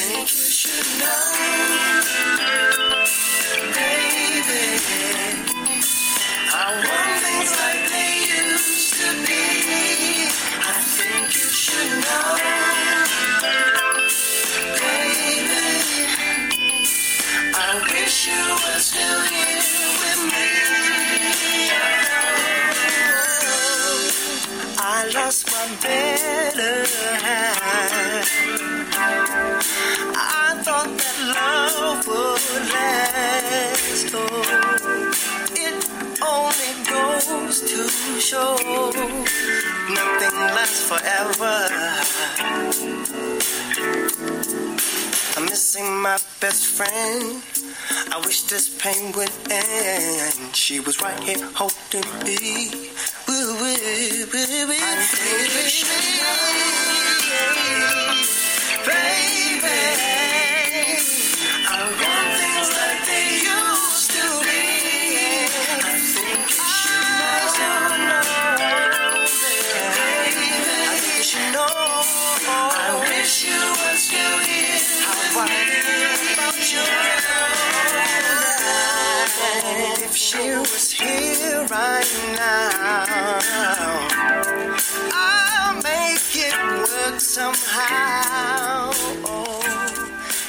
think you should know, baby, I want things like they used to be. I think you should know, baby, I wish you were still here with me. I lost my better half. I thought that love would last. Oh, it only goes to show nothing lasts forever. I'm missing my best friend. I wish this pain would end. She was right here holding me. I think you should know, baby, I want things like they used to be. I think you should know, baby, I think you should know. I wish you were still here. How I feel about you. If she was here right now, I'll make it work somehow.